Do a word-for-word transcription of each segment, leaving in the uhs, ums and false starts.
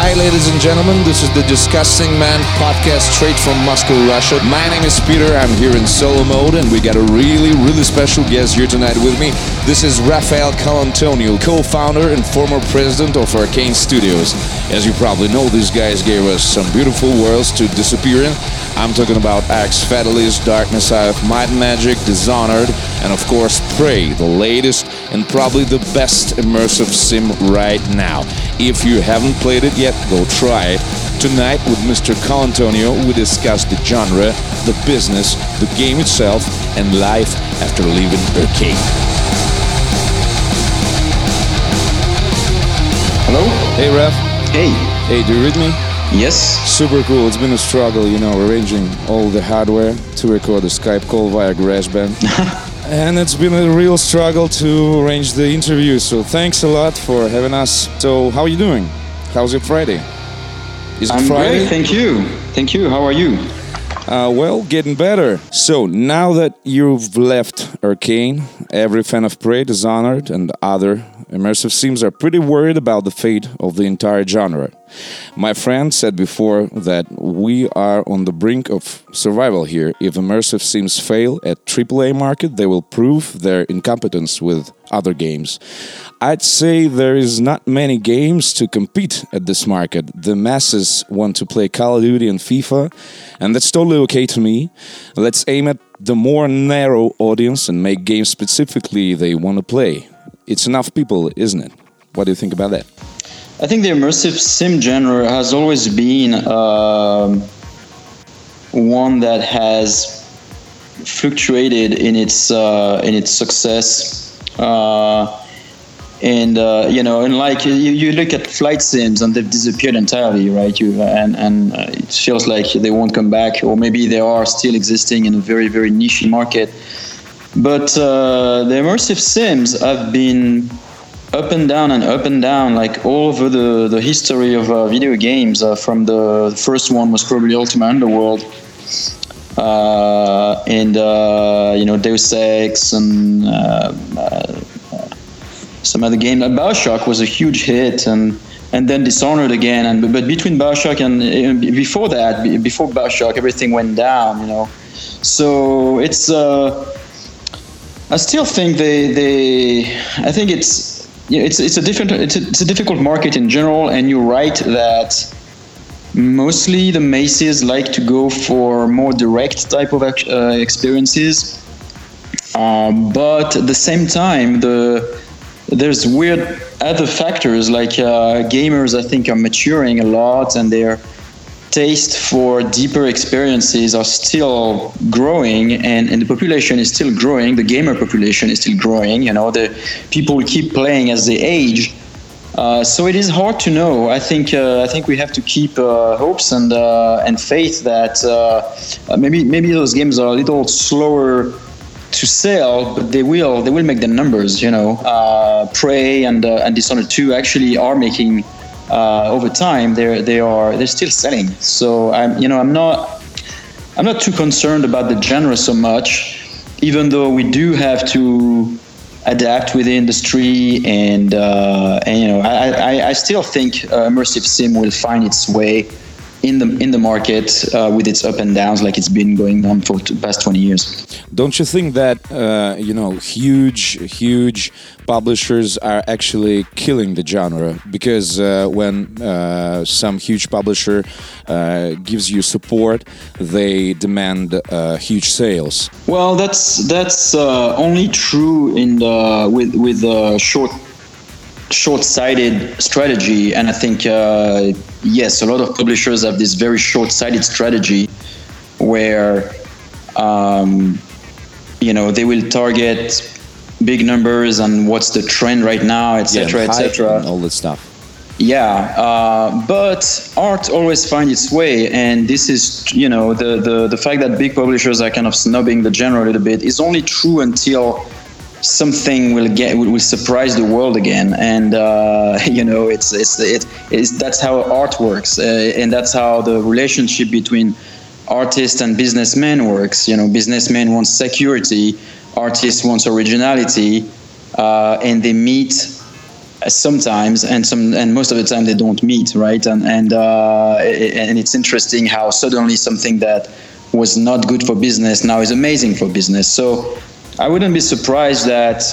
Hi, ladies and gentlemen. This is the Disgusting Man podcast straight from Moscow, Russia. My name is Peter. I'm here in solo mode, and we got a really, really special guest here tonight with me. This is Rafael Colantonio, co-founder and former president of Arcane Studios. As you probably know, these guys gave us some beautiful worlds to disappear in. I'm talking about Axe Fatalis, Darkness Eye of Might and Magic, Dishonored, and of course Prey, the latest and probably the best immersive sim right now. If you haven't played it yet, go try it. Tonight with Mister Colantonio, we discuss the genre, the business, the game itself, and life after leaving Arcane. Hello? Hey, Ref. Hey. Hey, do you read me? Yes. Super cool. It's been a struggle, you know, arranging all the hardware to record a Skype call via GarageBand. And it's been a real struggle to arrange the interview, so thanks a lot for having us. So, how are you doing? How's your Friday? Is it I'm Friday? great, thank you. Thank you, how are you? Uh, well, getting better. So, now that you've left Arcane, every fan of Prey, Dishonored, and other immersive sims are pretty worried about the fate of the entire genre. My friend said before that we are on the brink of survival here. If immersive sims fail at triple A market, they will prove their incompetence with other games. I'd say there is not many games to compete at this market. The masses want to play Call of Duty and FIFA, and that's totally okay to me. Let's aim at the more narrow audience and make games specifically they want to play. It's enough people, isn't it? What do you think about that? I think the immersive sim genre has always been uh, one that has fluctuated in its uh, in its success, uh, and uh, you know, and like you, you look at flight sims and they've disappeared entirely, right? You and and uh, it feels like they won't come back, or maybe they are still existing in a very very niche market. But uh, the immersive sims have been up and down and up and down, like all over the, the history of uh, video games. Uh, from the, the first one was probably Ultima Underworld, uh, and uh, you know, Deus Ex and uh, uh, some other game. Like BioShock was a huge hit, and and then Dishonored again. And but between BioShock and uh, before that, before BioShock, everything went down. You know, so it's. Uh, I still think they they. I think it's. Yeah, it's it's a different it's a, it's a difficult market in general, and you're right that mostly the masses like to go for more direct type of uh, experiences. Um, but at the same time, the there's weird other factors like uh, gamers. I think are maturing a lot, and their taste for deeper experiences are still growing, and, and the population is still growing. The gamer population is still growing. You know, the people keep playing as they age. Uh, so it is hard to know. I think uh, I think we have to keep uh, hopes and uh, and faith that uh, maybe maybe those games are a little slower to sell, but they will they will make the numbers. You know, uh, Prey and uh, and Dishonored two actually are making. Uh, over time, they're they are they're still selling. So I'm you know I'm not I'm not too concerned about the genre so much, even though we do have to adapt with the industry, and uh, and you know I, I, I still think uh, immersive sim will find its way in the in the market uh, with its up and downs, like it's been going on for the past twenty years. Don't you think that uh, you know huge huge publishers are actually killing the genre? Because uh, when uh, some huge publisher uh, gives you support, they demand uh, huge sales. Well, that's that's uh, only true in the with with uh, short. short-sighted strategy, and I think uh, yes, a lot of publishers have this very short-sighted strategy where um, you know they will target big numbers and what's the trend right now, et cetera, yeah, et cetera. All that stuff. Yeah, uh, but art always finds its way, and this is you know the, the the fact that big publishers are kind of snubbing the genre a little bit is only true until something will get will surprise the world again, and uh, you know it's it's it is that's how art works, uh, and that's how the relationship between artist and businessman works. You know, businessman wants security, artist wants originality, uh, and they meet sometimes, and some, and most of the time they don't meet, right? And and uh, and it's interesting how suddenly something that was not good for business now is amazing for business. So I wouldn't be surprised that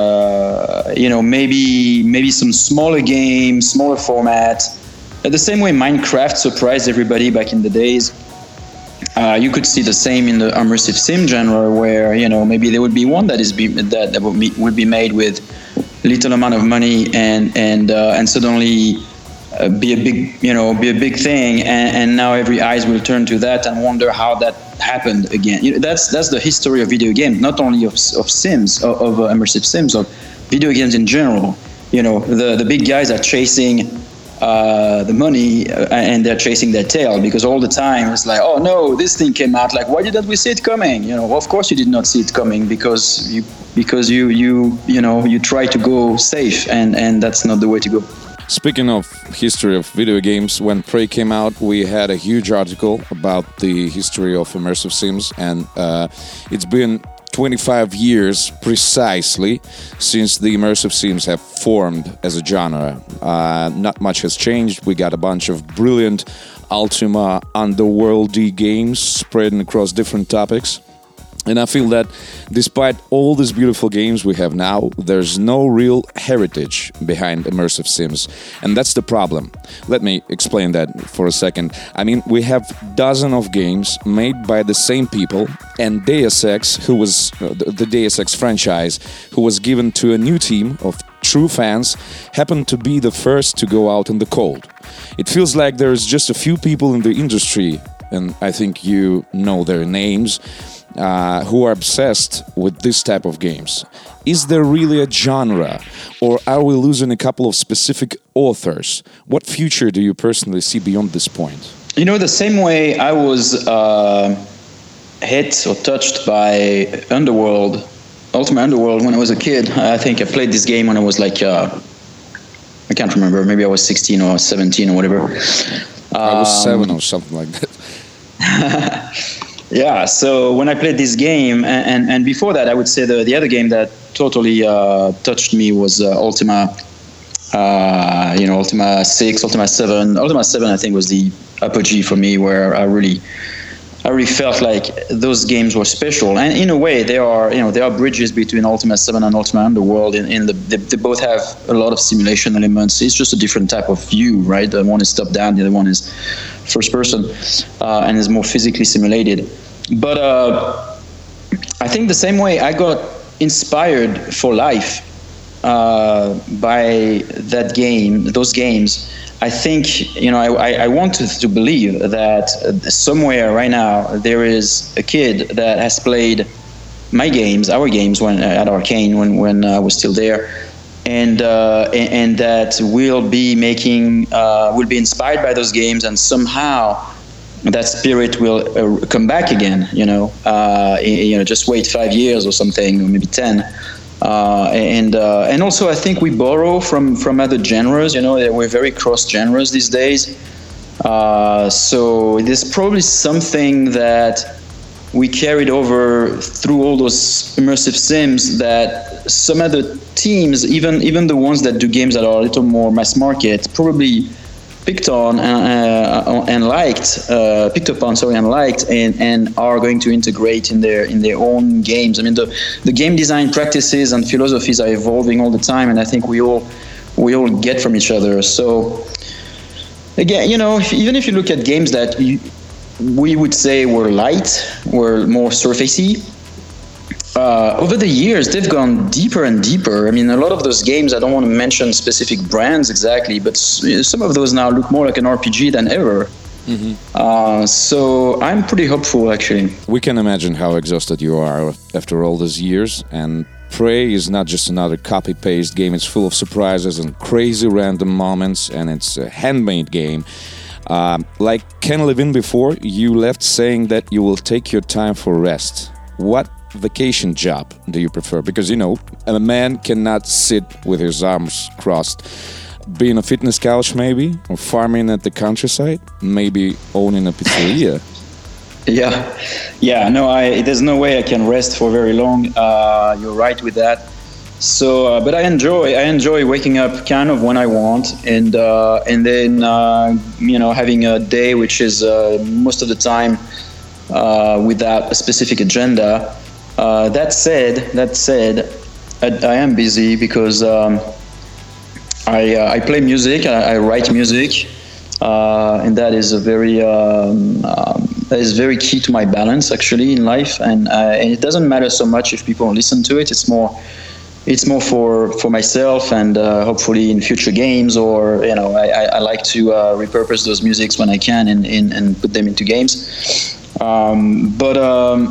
uh, you know maybe maybe some smaller games, smaller format, the same way Minecraft surprised everybody back in the days. Uh, you could see the same in the immersive sim genre, where you know maybe there would be one that is be, that, that would, be, would be made with little amount of money and and uh, and suddenly uh, be a big you know be a big thing, and, and now every eyes will turn to that and wonder how that happened again. You know, that's that's the history of video games, not only of of sims of, of uh, immersive sims, of video games in general. You know, the the big guys are chasing uh, the money uh, and they're chasing their tail, because all the time it's like, oh no, this thing came out. Like, why didn't we see it coming? You know, of course you did not see it coming because you because you you you know you try to go safe, and and that's not the way to go. Speaking of history of video games, when Prey came out, we had a huge article about the history of immersive sims, and uh, it's been twenty-five years precisely since the immersive sims have formed as a genre. Uh, not much has changed. We got a bunch of brilliant Ultima underworldy games spreading across different topics. And I feel that despite all these beautiful games we have now, there's no real heritage behind immersive sims. And that's the problem. Let me explain that for a second. I mean, we have dozens of games made by the same people, and Deus Ex, who was uh, the Deus Ex franchise, who was given to a new team of true fans, happened to be the first to go out in the cold. It feels like there's just a few people in the industry, and I think you know their names, Uh, who are obsessed with this type of games. Is there really a genre, or are we losing a couple of specific authors? What future do you personally see beyond this point? You know, the same way I was uh, hit or touched by Underworld, Ultima Underworld, when I was a kid. I think I played this game when I was like, uh, I can't remember, maybe I was sixteen or seventeen or whatever. I was um, seven or something like that. Yeah, so when I played this game, and, and, and before that, I would say the, the other game that totally uh, touched me was uh, Ultima, uh, you know, Ultima six, Ultima seven. Ultima seven, I think, was the apogee for me, where I really, I really felt like those games were special. And in a way, they are, you know, there are bridges between Ultima seven and Ultima Underworld. In, in the, they, they both have a lot of simulation elements. It's just a different type of view, right? The one is top down, the other one is first person, uh, and is more physically simulated. But uh, I think the same way I got inspired for life uh, by that game, those games. I think, you know, I, I want to, to believe that somewhere right now there is a kid that has played my games, our games, when at Arcane, when when I was still there, and uh, and, and that will be making, uh, will be inspired by those games, and somehow that spirit will uh, come back again. You know, uh, you know, just wait five years or something, or maybe ten. Uh, and uh, and also I think we borrow from, from other genres. You know, we're very cross genres these days. Uh, so there's probably something that we carried over through all those immersive sims that some other teams, even even the ones that do games that are a little more mass market, probably picked on and, uh, and liked, uh, picked up on, sorry, and liked, and, and are going to integrate in their in their own games. I mean, the, the game design practices and philosophies are evolving all the time, and I think we all we all get from each other. So again, you know, if, even if you look at games that you, we would say were light, were more surfacey, Uh, over the years, they've gone deeper and deeper. I mean, a lot of those games, I don't want to mention specific brands exactly, but some of those now look more like an R P G than ever. Mm-hmm. Uh, so I'm pretty hopeful, actually. We can imagine how exhausted you are after all these years. And Prey is not just another copy-paste game. It's full of surprises and crazy random moments, and it's a handmade game. Uh, like Ken Levine before, you left saying that you will take your time for rest. What vacation job do you prefer? Because, you know, a man cannot sit with his arms crossed. Being a fitness couch, maybe, or farming at the countryside, maybe owning a pizzeria. Yeah, yeah. No, I. There's no way I can rest for very long. Uh, you're right with that. So, uh, but I enjoy I enjoy waking up kind of when I want, and uh, and then uh, you know having a day which is uh, most of the time uh, without a specific agenda. Uh, that said, that said, I, I am busy because um, I uh, I play music, I, I write music, uh, and that is a very um, um, that is very key to my balance actually in life, and, uh, and it doesn't matter so much if people listen to it. It's more It's more for, for myself and uh, hopefully in future games, or you know, I, I like to uh, repurpose those musics when I can and, and, and put them into games. Um, but um,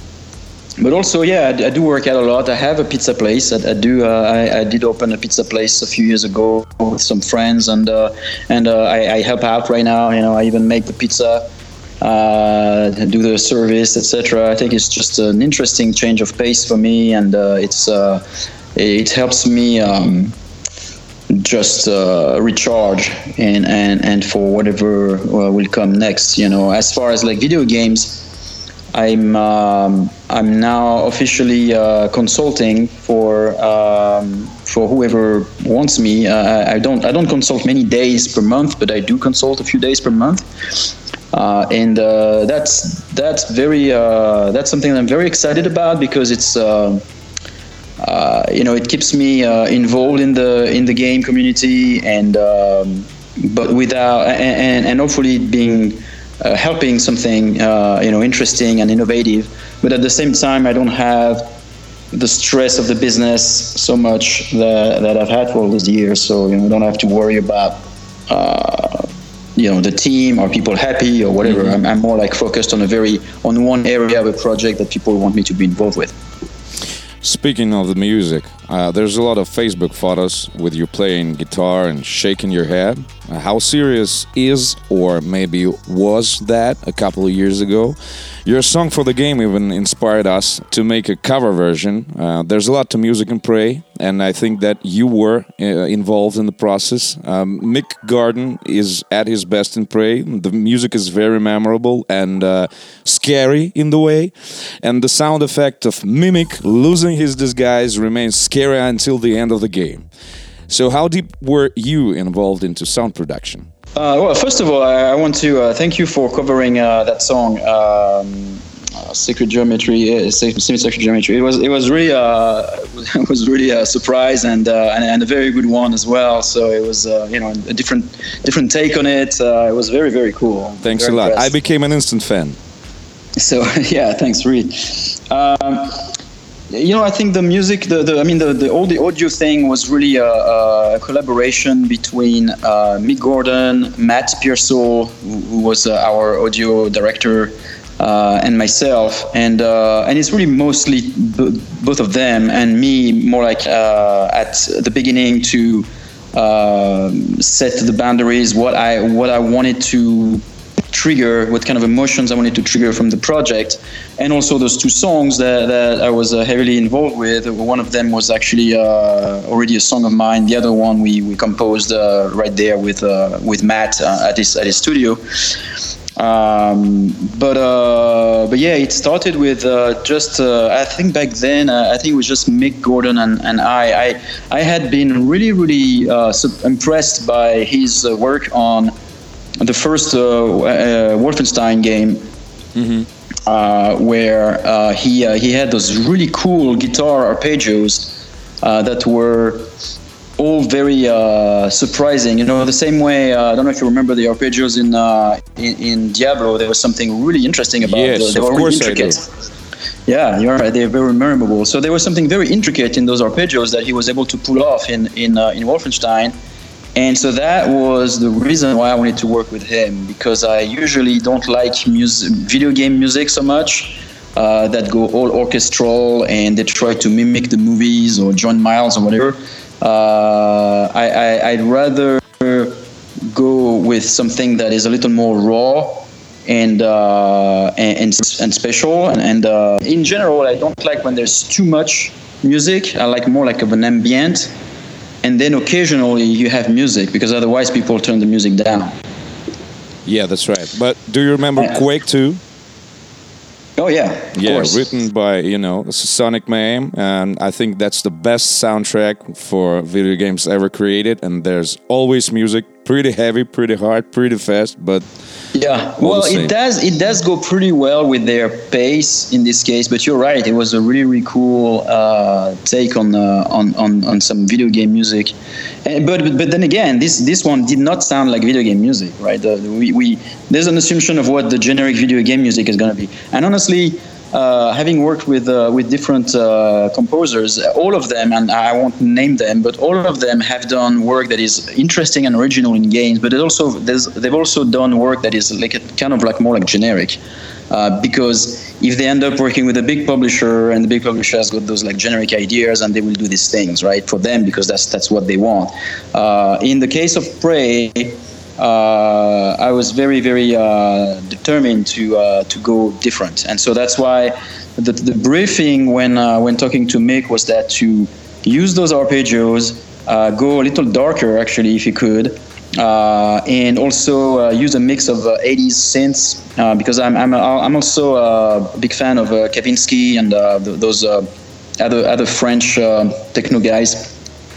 but also, yeah, I, I do work out a lot. I have a pizza place. I, I do. Uh, I, I did open a pizza place a few years ago with some friends, and uh, and uh, I, I help out right now. You know, I even make the pizza. Uh, do the service, et cetera. I think it's just an interesting change of pace for me, and uh, it's uh, it helps me um, just uh, recharge and, and, and for whatever uh, will come next. You know, as far as like video games, I'm um, I'm now officially uh, consulting for um, for whoever wants me. Uh, I don't I don't consult many days per month, but I do consult a few days per month. Uh, and uh, that's that's very uh, that's something that I'm very excited about, because it's uh, uh, you know it keeps me uh, involved in the in the game community, and um, but without and, and hopefully being uh, helping something uh, you know interesting and innovative. But at the same time, I don't have the stress of the business so much that, that I've had for all these years. So you know I don't have to worry about. Uh, you know, the team, are people happy or whatever. Mm-hmm. I'm, I'm more like focused on a very, on one area of a project that people want me to be involved with. Speaking of the music, uh, there's a lot of Facebook photos with you playing guitar and shaking your head. Uh, how serious is, or maybe was that a couple of years ago? Your song for the game even inspired us to make a cover version. Uh, there's a lot to Music and Pray, and I think that you were uh, involved in the process. Um, Mick Gordon is at his best in Pray. The music is very memorable and uh, scary in the way, and the sound effect of Mimic losing his disguise remains scary until the end of the game. So how deep were you involved into sound production? Uh, well, first of all, I, I want to uh, thank you for covering uh, that song, um, uh, "Sacred Geometry." Uh, Sacred Geometry. It was it was really uh, it was really a surprise, and, uh, and and a very good one as well. So it was uh, you know a different different take on it. Uh, it was very very cool. Thanks very a lot. impressed. I became an instant fan. So yeah, thanks, Reed. Um, You know, I think the music, the, the I mean, the, the all the audio thing was really a, a collaboration between uh, Mick Gordon, Matt Pearsall, who, who was uh, our audio director, uh, and myself, and uh, and it's really mostly b- both of them and me, more like uh, at the beginning to uh, set the boundaries, what I what I wanted to trigger, what kind of emotions I wanted to trigger from the project, and also those two songs that, that I was uh, heavily involved with. One of them was actually uh, already a song of mine. The other one we we composed uh, right there with uh, with Matt uh, at his at his studio. Um, but uh, but yeah, it started with uh, just uh, I think back then uh, I think it was just Mick Gordon and, and I. I I had been really really uh, impressed by his uh, work on the first uh, uh, Wolfenstein game, mm-hmm. uh, where uh, he uh, he had those really cool guitar arpeggios uh, that were all very uh, surprising. You know, the same way. Uh, I don't know if you remember the arpeggios in uh, in, in Diablo. There was something really interesting about yes, those. They of were course really intricate. I do. Yeah, you're right. They're very memorable. So there was something very intricate in those arpeggios that he was able to pull off in in uh, in Wolfenstein. And so that was the reason why I wanted to work with him, because I usually don't like music, video game music so much, uh, that go all orchestral and they try to mimic the movies or John Miles or whatever. Uh, I, I, I'd rather go with something that is a little more raw and uh, and, and and special. And, and uh, in general, I don't like when there's too much music. I like more like of an ambient. And then occasionally you have music, because otherwise people turn the music down. Yeah, that's right. But do you remember Yeah. Quake two? Oh yeah, of Yeah, course. written by, you know, Sonic Mayhem, and I think that's the best soundtrack for video games ever created. And there's always music, pretty heavy, pretty hard, pretty fast, but Yeah, all well, the same. it does it does go pretty well with their pace in this case. But you're right; it was a really really cool uh, take on, uh, on on on some video game music. And, but but then again, this this one did not sound like video game music, right? The, we, we there's an assumption of what the generic video game music is going to be, and honestly. Uh, having worked with uh, with different uh, composers, all of them, and I won't name them, but all of them have done work that is interesting and original in games. But it also they've also done work that is like a, kind of like more like generic, uh, because if they end up working with a big publisher and the big publisher has got those like generic ideas and they will do these things right for them because that's that's what they want. Uh, in the case of Prey. Uh, I was very, very uh, determined to uh, to go different, and so that's why the, the briefing when uh, when talking to Mick was that to use those arpeggios, uh, go a little darker actually if you could, uh, and also uh, use a mix of uh, eighties synths uh, because I'm I'm I'm also a big fan of uh, Kavinsky and uh, th- those uh, other other French uh, techno guys.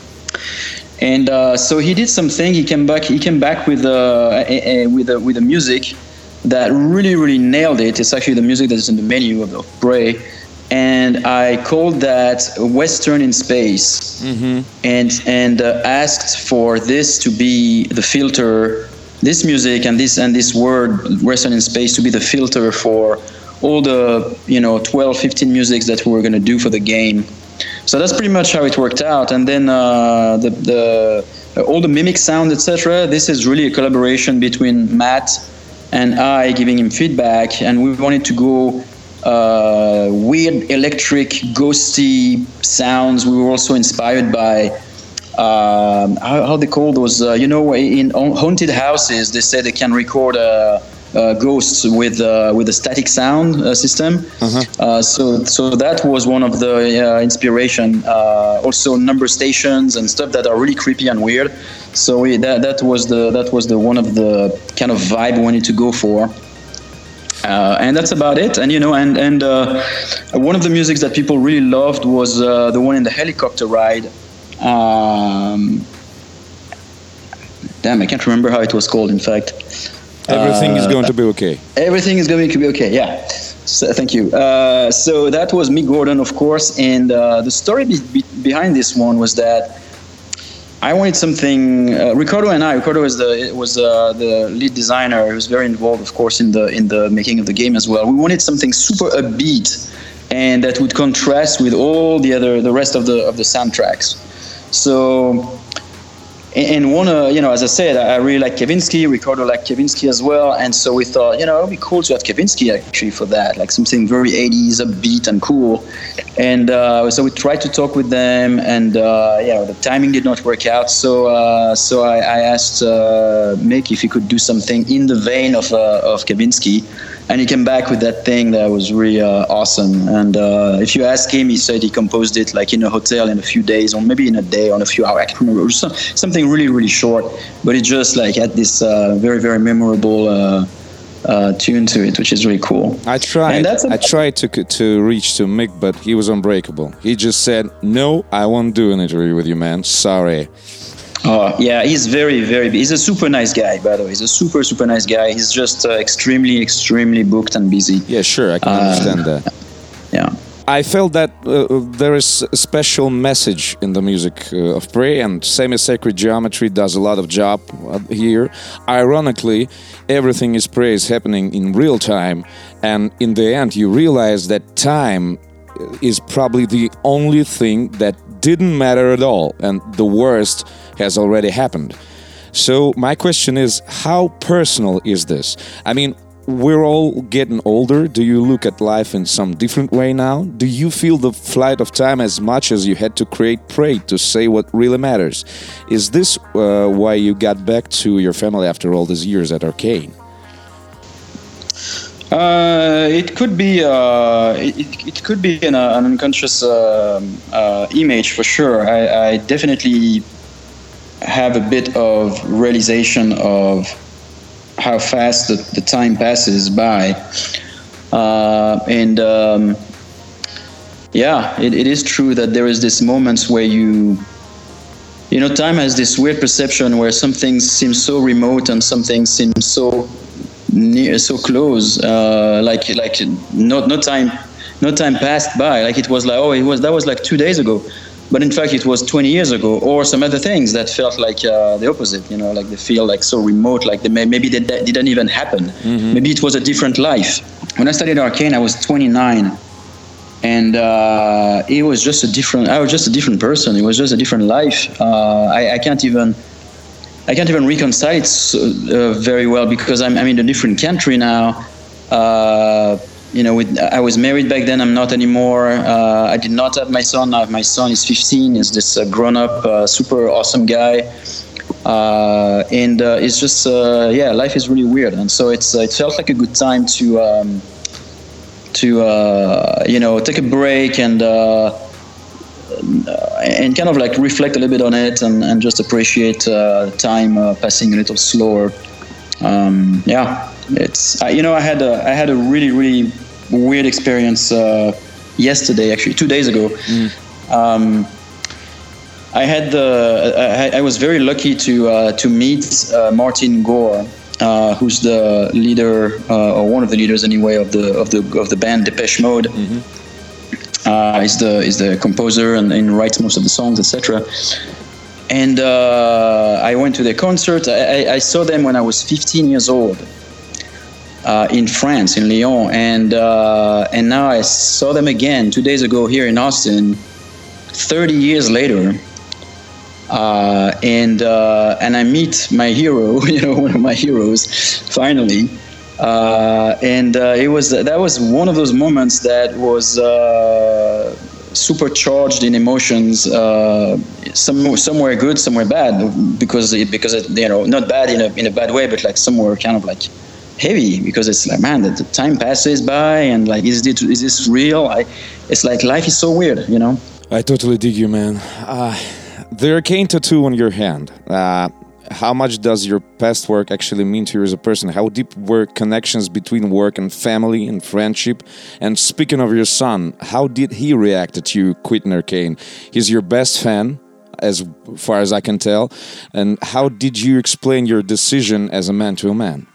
And uh, so he did something. He came back. He came back with uh, a, a, with a, with a music that really, really nailed it. It's actually the music that is in the menu of, of Prey, and I called that Western in Space, Mm-hmm. and and uh, asked for this to be the filter, this music and this and this word Western in Space to be the filter for all the you know twelve, fifteen musics that we were going to do for the game. So that's pretty much how it worked out. And then uh, the, the uh, all the mimic sound, et cetera. This is really a collaboration between Matt and I, giving him feedback. And we wanted to go uh, weird, electric, ghosty sounds. We were also inspired by um, how, how they call those. Uh, you know, in haunted houses, they say they can record a. Uh, ghosts with uh, with a static sound uh, system. Uh-huh. Uh, so so that was one of the uh, inspiration. Uh, also number stations and stuff that are really creepy and weird. So we, that that was the that was the one of the kind of vibe we wanted to go for. Uh, and that's about it. And you know, and and uh, one of the musics that people really loved was uh, the one in the helicopter ride. Um, damn, I can't remember how it was called. In fact. Everything uh, is going to be okay. Everything is going to be okay, yeah. So, thank you. Uh, so that was Mick Gordon, of course. And uh, the story be- be- behind this one was that I wanted something. Uh, Ricardo and I. Ricardo was the was uh, the lead designer. He was very involved, of course, in the in the making of the game as well. We wanted something super upbeat and that would contrast with all the other the rest of the of the soundtracks. So. And one, uh, you know, as I said, I really like Kavinsky. Ricardo liked Kavinsky as well, and so we thought, you know, it would be cool to have Kavinsky actually for that, like something very eighties, upbeat and cool. And uh, so we tried to talk with them, and uh, you know, the timing did not work out. So, uh, so I, I asked uh, Mick if he could do something in the vein of uh, of Kavinsky. And he came back with that thing that was really uh, awesome. And uh, if you ask him, he said he composed it like in a hotel in a few days, or maybe in a day, or in a few hours. I can't remember. It was some, something really, really short. But it just like had this uh, very, very memorable uh, uh, tune to it, which is really cool. I tried. And that's a- I tried to to reach to Mick, but he was unbreakable. He just said, "No, I won't do an interview with you, man. Sorry." Oh, yeah, he's very, very, he's a super nice guy, by the way. He's a super, super nice guy. He's just uh, extremely, extremely booked and busy. Yeah, sure, I can Uh, understand that. Yeah. I felt that uh, there is a special message in the music uh, of Prey, and Semi-Sacred Geometry does a lot of job uh, here. Ironically, everything is Prey is happening in real time, and in the end you realize that time is probably the only thing that didn't matter at all, and the worst has already happened. So my question is, how personal is this? I mean, we're all getting older. Do you look at life in some different way now? Do you feel the flight of time as much as you had to create Prey to say what really matters? Is this uh, why you got back to your family after all these years at Arcane? Uh, it could be uh, it, it could be an, uh, an unconscious uh, uh, image for sure. I, I definitely have a bit of realization of how fast the, the time passes by. uh, and um, yeah, it, it is true that there is this moments where you, you know, time has this weird perception where some things seem so remote and some things seem so near, so close, uh, like like no no time no time passed by, like it was like, oh, it was that was like two days ago, but in fact it was twenty years ago, or some other things that felt like uh, the opposite, you know, like they feel like so remote, like they may, maybe they, they didn't even happen. Mm-hmm. Maybe it was a different life. When I studied Arcane, I was twenty-nine, and uh, it was just a different. I was just a different person. It was just a different life. Uh, I, I can't even. I can't even reconcile it so, uh, very well because I'm, I'm in a different country now. Uh, you know, with, I was married back then. I'm not anymore. Uh, I did not have my son. Now my son is fifteen. He's this uh, grown-up, uh, super awesome guy, uh, and uh, it's just uh, yeah, life is really weird. And so it's uh, it felt like a good time to um, to uh, you know take a break and. Uh, and kind of like reflect a little bit on it and, and just appreciate uh, time uh, passing a little slower. Um, yeah, it's uh, you know I had a I had a really really weird experience uh, yesterday, actually two days ago. Mm. Um, I had the I, I was very lucky to uh, to meet uh, Martin Gore, uh, who's the leader uh, or one of the leaders anyway of the of the of the band Depeche Mode. Mm-hmm. Uh, he's the is the composer and, and writes most of the songs, et cetera. And uh, I went to their concert. I, I saw them when I was fifteen years old uh, in France, in Lyon, and uh, and now I saw them again two days ago here in Austin, thirty years later. Uh, and uh, and I meet my hero, you know, one of my heroes, finally. Uh, and uh, it was that was one of those moments that was uh, supercharged in emotions. Uh, some somewhere good, somewhere bad, because it, because it, you know not bad in a in a bad way, but like somewhere kind of like heavy, because it's like, man, the time passes by and like is this is this real? I, it's like life is so weird, you know. I totally dig you, man. Uh, the Arcane tattoo on your hand. Uh, How much does your past work actually mean to you as a person? How deep were connections between work and family and friendship? And speaking of your son, how did he react to you quitting Arcane? He's your best fan, as far as I can tell. And how did you explain your decision as a man to a man?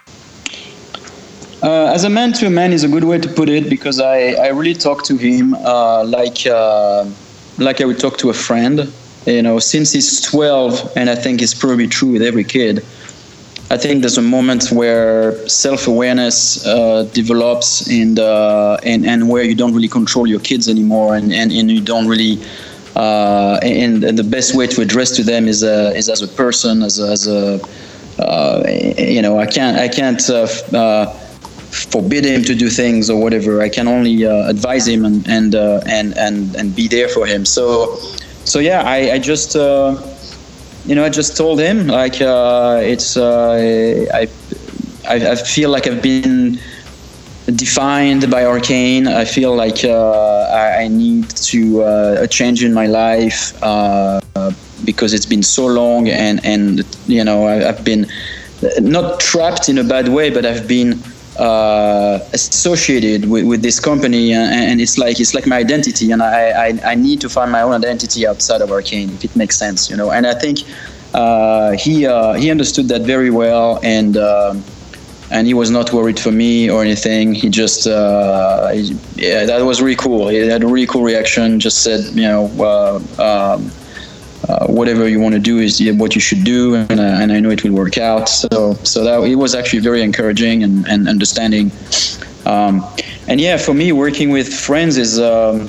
Uh, as a man to a man is a good way to put it, because I, I really talk to him uh, like uh, like I would talk to a friend. You know, since he's twelve, and I think it's probably true with every kid, I think there's a moment where self-awareness uh, develops, and, uh, and and where you don't really control your kids anymore, and, and, and you don't really, uh, and, and the best way to address to them is uh, is as a person, as a, as a uh, you know, I can't I can't uh, uh, forbid him to do things or whatever. I can only uh, advise him and and, uh, and and and be there for him. So. So yeah, I, I just, uh, you know, I just told him like uh, it's. Uh, I, I I feel like I've been defined by Arcane. I feel like uh, I, I need to uh, a change in my life uh, because it's been so long, and and you know I, I've been not trapped in a bad way, but I've been. Uh, associated with, with this company, and, and it's like it's like my identity, and I, I I need to find my own identity outside of Arcane, if it makes sense, you know. And I think uh, he uh, he understood that very well, and uh, and he was not worried for me or anything. He just uh, he, yeah, that was really cool. He had a really cool reaction. Just said, you know, uh, um, Uh, whatever you want to do is what you should do, and, uh, and I know it will work out. So, so that it was actually very encouraging and, and understanding. Um, and yeah, for me, working with friends is um,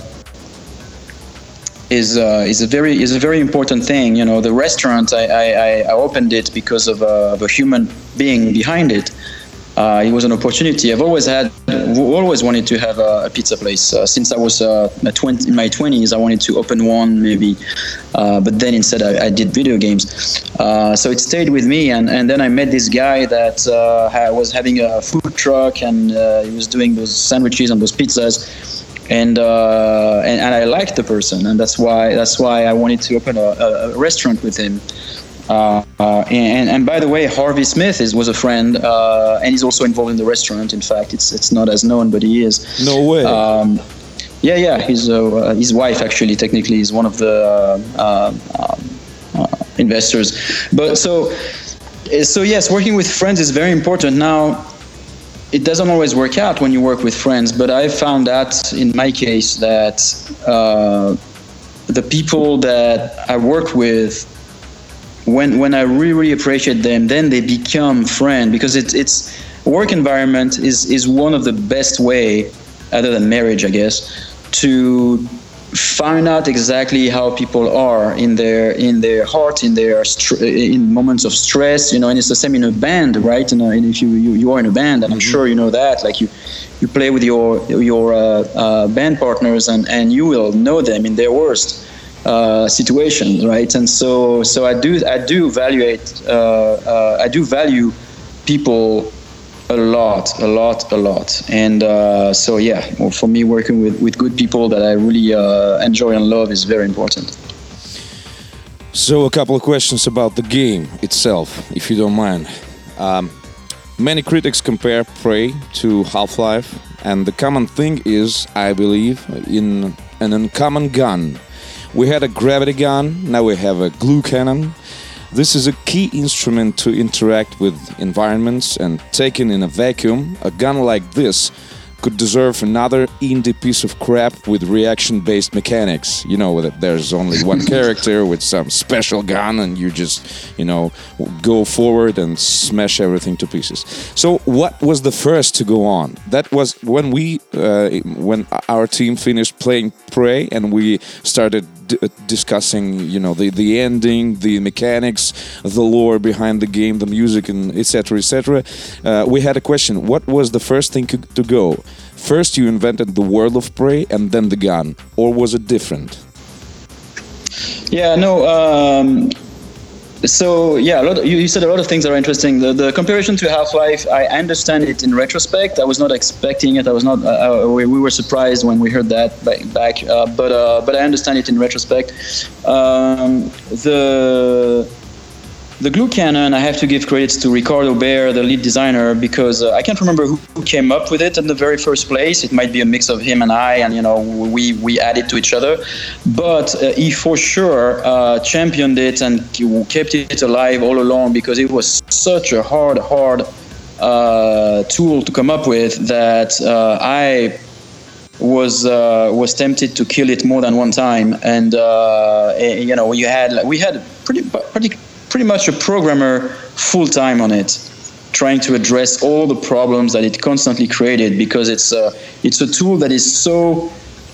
is uh, is a very is a very important thing. You know, the restaurant I I, I opened it because of a, of a human being behind it. Uh, it was an opportunity. I've always had, always wanted to have a, a pizza place. Uh, since I was uh, twenty, in my twenties, I wanted to open one maybe, uh, but then instead I, I did video games. Uh, so it stayed with me, and, and then I met this guy that uh, was having a food truck, and uh, he was doing those sandwiches and those pizzas, and, uh, and and I liked the person, and that's why that's why I wanted to open a, a, a restaurant with him. Uh, uh, and, and by the way, Harvey Smith is, was a friend, uh, and he's also involved in the restaurant. In fact, it's it's not as known, but he is. No way. Um, yeah, yeah. His uh, his wife actually, technically, is one of the uh, uh, uh, investors. But so so yes, working with friends is very important. Now, it doesn't always work out when you work with friends, but I found that in my case that uh, the people that I work with, when when I really, really appreciate them, then they become friends, because it's it's work environment is is one of the best way, other than marriage, I guess, to find out exactly how people are in their in their heart, in their in moments of stress, you know. And it's the same in a band, right? And, uh, and if you, you you are in a band, and I'm sure you know that, like you you play with your your uh, uh, band partners, and and you will know them in their worst Uh, situations, right? And so, so I do, I do evaluate, uh, uh, I do value people a lot, a lot, a lot. And uh, so, yeah, well, for me, working with, with good people that I really uh, enjoy and love is very important. So, a couple of questions about the game itself, if you don't mind. Um, many critics compare Prey to Half-Life, and the common thing is, I believe, in an uncommon gun. We had a gravity gun, now we have a glue cannon. This is a key instrument to interact with environments, and taken in a vacuum, a gun like this could deserve another indie piece of crap with reaction-based mechanics. You know, that there's only one character with some special gun, and you just, you know, go forward and smash everything to pieces. So what was the first to go on? That was when we, uh, when our team finished playing Prey, and we started d- discussing, you know, the, the ending, the mechanics, the lore behind the game, the music, and et cetera, et cetera. Uh, we had a question: what was the first thing to go? First, you invented the world of Prey, and then the gun, or was it different? Yeah, no. Um, so yeah, a lot of, you, you said a lot of things that are interesting. The, the comparison to Half-Life, I understand it in retrospect. I was not expecting it. I was not. Uh, we, we were surprised when we heard that back. back uh, but uh, but I understand it in retrospect. Um, the The glue cannon, I have to give credits to Ricardo Bear, the lead designer, because uh, I can't remember who, who came up with it in the very first place. It might be a mix of him and I, and you know, we we added to each other. But uh, he for sure uh, championed it and kept it alive all along, because it was such a hard, hard uh, tool to come up with that uh, I was uh, was tempted to kill it more than one time. And uh, you know, you had we had pretty pretty. pretty much a programmer full-time on it, trying to address all the problems that it constantly created, because it's a, it's a tool that is so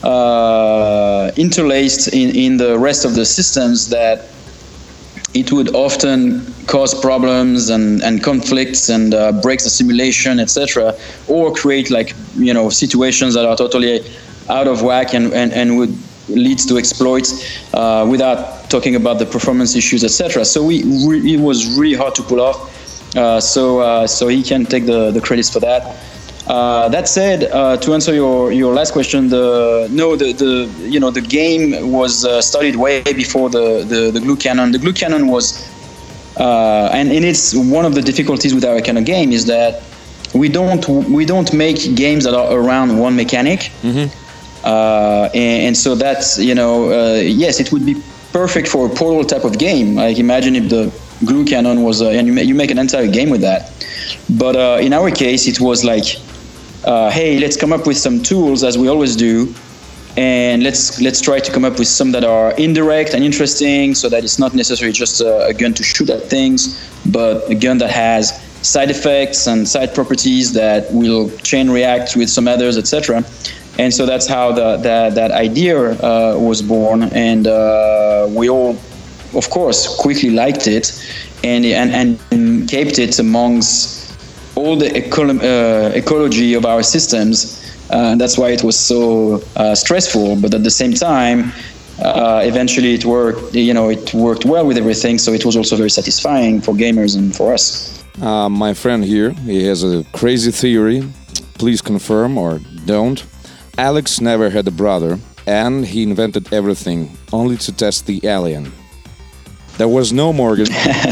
uh, interlaced in, in the rest of the systems that it would often cause problems and, and conflicts and uh, breaks the simulation, et cetera, or create like, you know, situations that are totally out of whack and, and, and would leads to exploits, uh, without talking about the performance issues, et cetera. So we re- it was really hard to pull off. Uh, so uh, so he can take the, the credits for that. Uh, that said, uh, to answer your, your last question, the no the, the you know the game was uh, started way before the, the, the glue cannon. The glue cannon was uh, and, and it's one of the difficulties with our kind of game is that we don't we don't make games that are around one mechanic. Mm-hmm. Uh, and, and so that's, you know, uh, yes, it would be perfect for a Portal type of game. Like imagine if the glue cannon was, uh, and you, ma- you make an entire game with that. But uh, in our case, it was like, uh, hey, let's come up with some tools, as we always do, and let's let's try to come up with some that are indirect and interesting, so that it's not necessarily just a, a gun to shoot at things, but a gun that has side effects and side properties that will chain react with some others, et cetera. And so that's how the, the, that idea uh, was born, and uh, we all, of course, quickly liked it, and and, and kept it amongst all the eco- uh, ecology of our systems. Uh, that's why it was so uh, stressful. But at the same time, uh, eventually it worked. You know, it worked well with everything. So it was also very satisfying for gamers and for us. Uh, my friend here, he has a crazy theory. Please confirm or don't. Alex never had a brother, and he invented everything only to test the alien. There was no Morgan.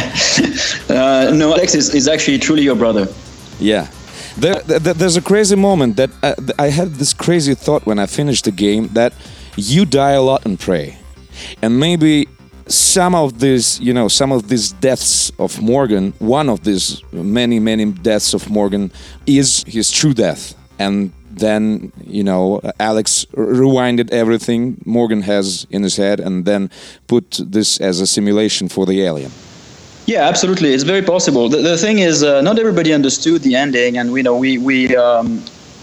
uh, no, Alex is, is actually truly your brother. Yeah. There, there, there's a crazy moment that I, I had this crazy thought when I finished the game that you die a lot in Prey. And maybe some of these, you know, some of these deaths of Morgan, one of these many, many deaths of Morgan is his true death. And then, you know, Alex rewinded everything Morgan has in his head and then put this as a simulation for the alien. Yeah, absolutely. It's very possible. The, the thing is, uh, not everybody understood the ending, and we know we we um,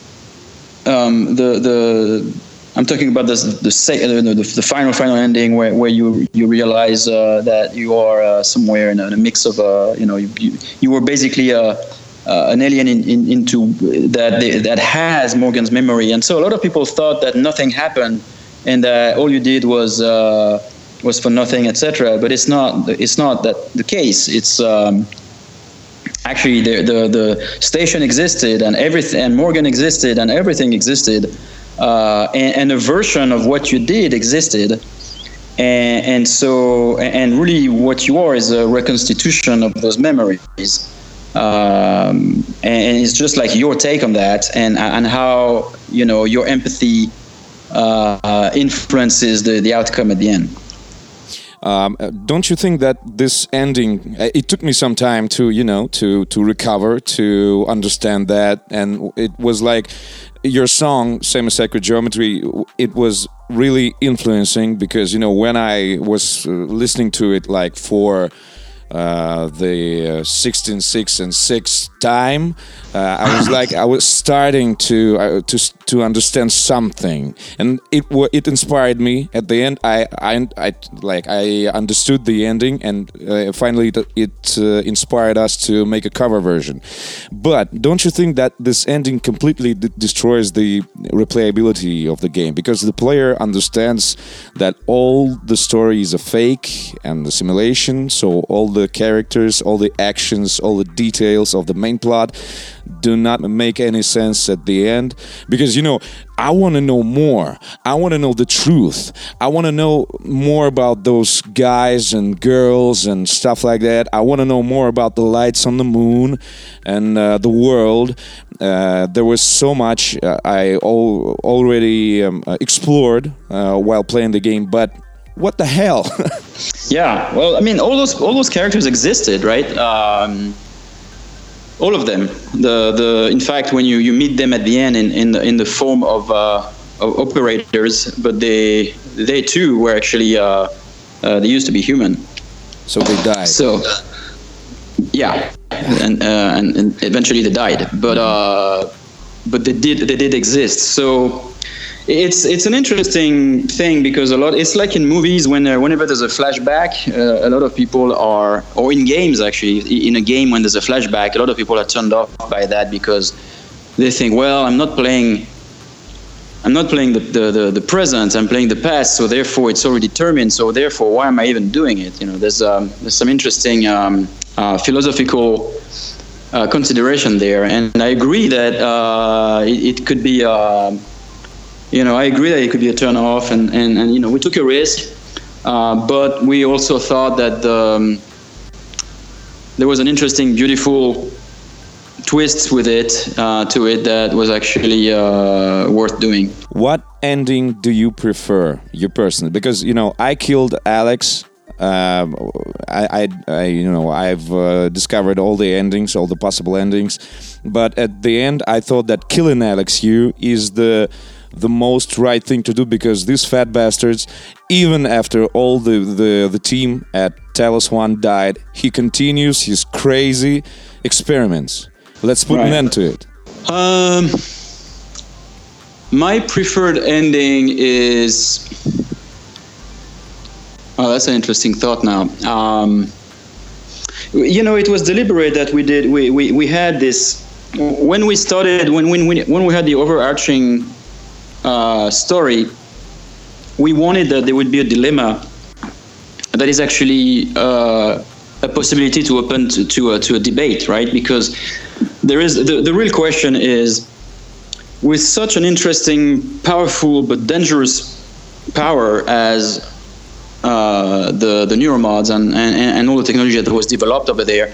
um, the the I'm talking about this, the, sec- the the the final final ending where, where you you realize uh, that you are uh, somewhere in a, in a mix of uh, you know you you, you were basically a. Uh, an alien in, in, into that they, that has Morgan's memory, and so a lot of people thought that nothing happened, and that all you did was uh, was for nothing, et cetera. But it's not. It's not that the case. It's um, actually the, the the station existed, and everything, and Morgan existed, and everything existed, uh, and, and a version of what you did existed, and, and so and really what you are is a reconstitution of those memories. Um, and it's just like your take on that, and and how you know your empathy uh, influences the, the outcome at the end. Um, don't you think that this ending? It took me some time to you know to to recover, to understand that, and it was like your song "Semi-Sacred Geometry." It was really influencing because you know when I was listening to it like for. Uh, the uh, sixteen, six, and six time, uh, I was like, I was starting to uh, to to understand something, and it w- it inspired me. At the end, I I, I like I understood the ending, and uh, finally it, it uh, inspired us to make a cover version. But don't you think that this ending completely d- destroys the replayability of the game because the player understands that all the story is a fake and the simulation, so all the characters, all the actions, all the details of the main plot do not make any sense at the end because, you know, I want to know more. I want to know the truth. I want to know more about those guys and girls and stuff like that. I want to know more about the lights on the moon and uh, the world. Uh, there was so much uh, I al- already um, explored uh, while playing the game, but what the hell? Yeah, well, I mean, all those all those characters existed, right? Um, all of them. The the in fact, when you, you meet them at the end in in the, in the form of, uh, of operators, but they they too were actually uh, uh, they used to be human. So they died. So yeah, and uh, and, and eventually they died, but uh, but they did they did exist. So. It's it's an interesting thing because a lot it's like in movies when uh, whenever there's a flashback, uh, a lot of people are, or in games actually, in a game when there's a flashback, a lot of people are turned off by that because they think, well, I'm not playing, I'm not playing the the, the, the present, I'm playing the past, so therefore it's already determined, so therefore why am I even doing it? You know, there's um, there's some interesting um, uh, philosophical uh, consideration there, and I agree that uh, it, it could be. Uh, You know, I agree that it could be a turn off, and, and, and you know, we took a risk, uh, but we also thought that um, there was an interesting, beautiful twist with it, uh, to it that was actually uh, worth doing. What ending do you prefer, you personally? Because, you know, I killed Alex. Um, I, I, I, you know, I've uh, discovered all the endings, all the possible endings, but at the end, I thought that killing Alex Yu is the the most right thing to do because these fat bastards, even after all the, the, the team at Talos One died, he continues his crazy experiments. Let's put right. an end to it. Um, my preferred ending is... Oh, that's an interesting thought now. Um, you know, it was deliberate that we did, we, we, we had this... When we started, when, when, we, when we had the overarching... Uh, story, we wanted that there would be a dilemma that is actually uh, a possibility to open to to a, to a debate, right? Because there is the, the real question is, with such an interesting, powerful but dangerous power as uh, the the neuromods and, and and all the technology that was developed over there,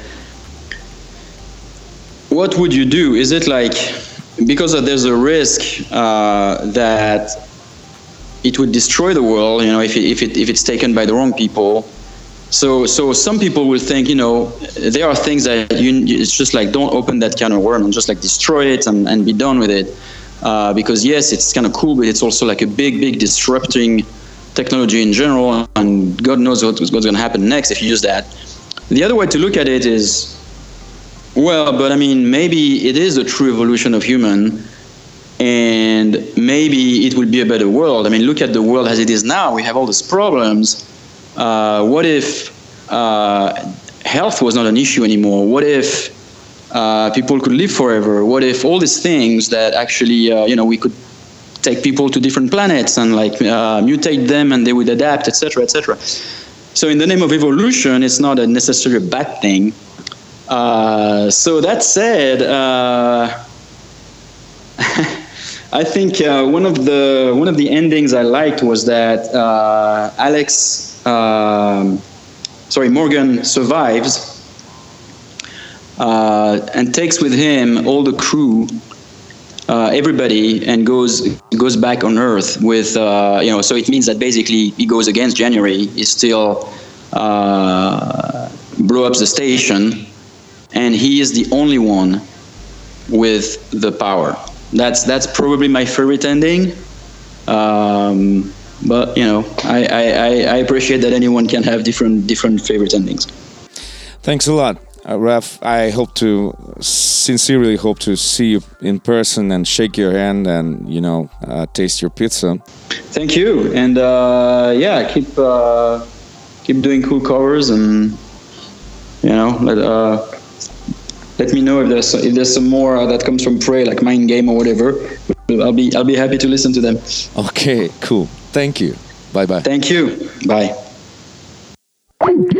what would you do? Is it like, because there's a risk uh, that it would destroy the world, you know, if it, if it if it's taken by the wrong people? So so some people will think, you know, there are things that you, it's just like, don't open that can of worms and just like destroy it and, and be done with it. Uh, because yes, it's kind of cool, but it's also like a big, big disrupting technology in general, and God knows what, what's going to happen next if you use that. The other way to look at it is, well, but I mean, maybe it is a true evolution of human, and maybe it will be a better world. I mean, look at the world as it is now. We have all these problems. Uh, what if uh, health was not an issue anymore? What if uh, people could live forever? What if all these things that actually, uh, you know, we could take people to different planets and like uh, mutate them and they would adapt, et cetera, et cetera. So in the name of evolution, it's not a necessarily a bad thing. Uh, so that said, uh, I think uh, one of the one of the endings I liked was that uh, Alex, um, sorry, Morgan survives uh, and takes with him all the crew, uh, everybody, and goes goes back on Earth with uh, you know. So it means that basically he goes against January. He still uh, blow up the station, and he is the only one with the power. That's that's probably my favorite ending, um, but you know, I, I, I appreciate that anyone can have different different favorite endings. Thanks a lot, uh, Raph. I hope to sincerely hope to see you in person and shake your hand and you know uh, taste your pizza. Thank you, and uh, yeah, keep uh, keep doing cool covers, and you know let. Uh, Let me know if there's if there's some more uh, that comes from Prey, like Mind Game or whatever. I'll be I'll be happy to listen to them. Okay, cool. Thank you. Bye bye. Thank you. Bye.